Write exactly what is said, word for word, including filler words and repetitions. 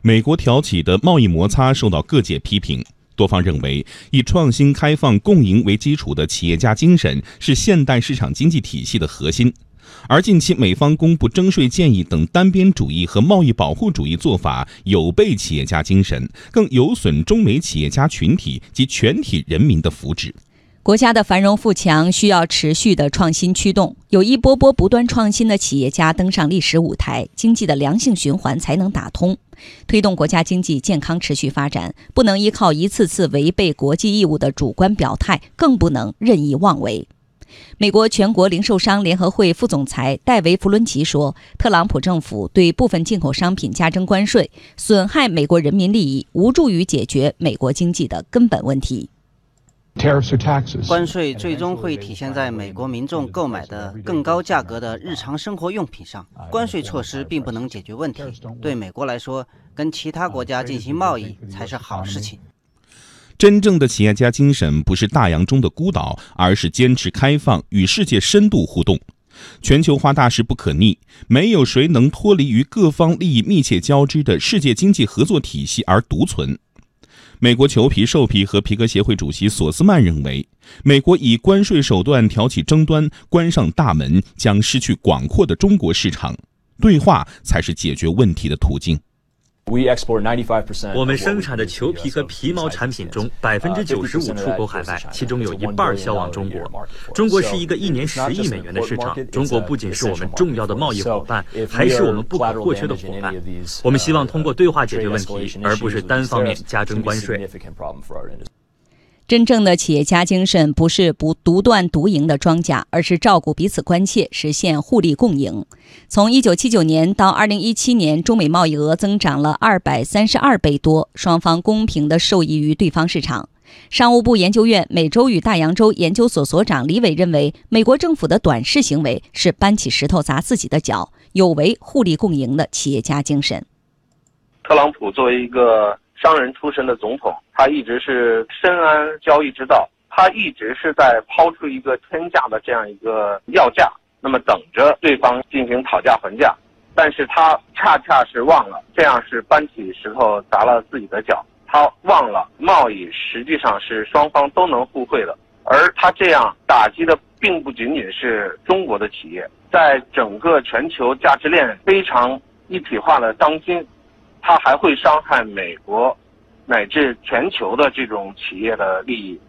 美国挑起的贸易摩擦受到各界批评。多方认为，以创新、开放、共赢为基础的企业家精神是现代市场经济体系的核心。而近期美方公布征税建议等单边主义和贸易保护主义做法，有悖企业家精神，更有损中美企业家群体及全体人民的福祉。 国家的繁荣富强需要持续的创新驱动，有一波波不断创新的企业家登上历史舞台，经济的良性循环才能打通。推动国家经济健康持续发展，不能依靠一次次违背国际义务的主观表态，更不能任意妄为。美国全国零售商联合会副总裁戴维·弗伦奇说，特朗普政府对部分进口商品加征关税，损害美国人民利益，无助于解决美国经济的根本问题。 关税最终会体现在美国民众购买的更高价格的日常生活用品上。关税措施并不能解决问题，对美国来说，跟其他国家进行贸易才是好事情。 真正的企业家精神不是大洋中的孤岛，而是坚持开放，与世界深度互动。全球化大势不可逆，没有谁能脱离于各方利益密切交织的世界经济合作体系而独存。美国裘皮、兽皮和皮革协会主席索斯曼认为，美国以关税手段挑起争端，关上大门，将失去广阔的中国市场。对话才是解决问题的途径。 我们生产的裘皮和皮毛产品中，百分之九十五出口海外，其中有一半销往中国。中国是一个一年十亿美元的市场，中国不仅是我们重要的贸易伙伴，还是我们不可或缺的伙伴。我们希望通过对话解决问题，而不是单方面加征关税。 真正的企业家精神不是不独断独赢的庄稼，而是照顾彼此关切，实现互利共赢。从一九七九年到二零一七年，中美贸易额增长了二百三十二倍多，双方公平地受益于对方市场。商务部研究院美洲与大洋洲研究所所长李伟认为，美国政府的短视行为是搬起石头砸自己的脚，有违互利共赢的企业家精神。 特朗普作为一个商人出身的总统，他一直是深谙交易之道，他一直是在抛出一个天价的这样一个要价，那么等着对方进行讨价还价，但是他恰恰是忘了，这样是搬起石头砸了自己的脚。他忘了贸易实际上是双方都能互惠的，而他这样打击的并不仅仅是中国的企业，在整个全球价值链非常一体化的当今，它还会伤害美国乃至全球的这种企业的利益。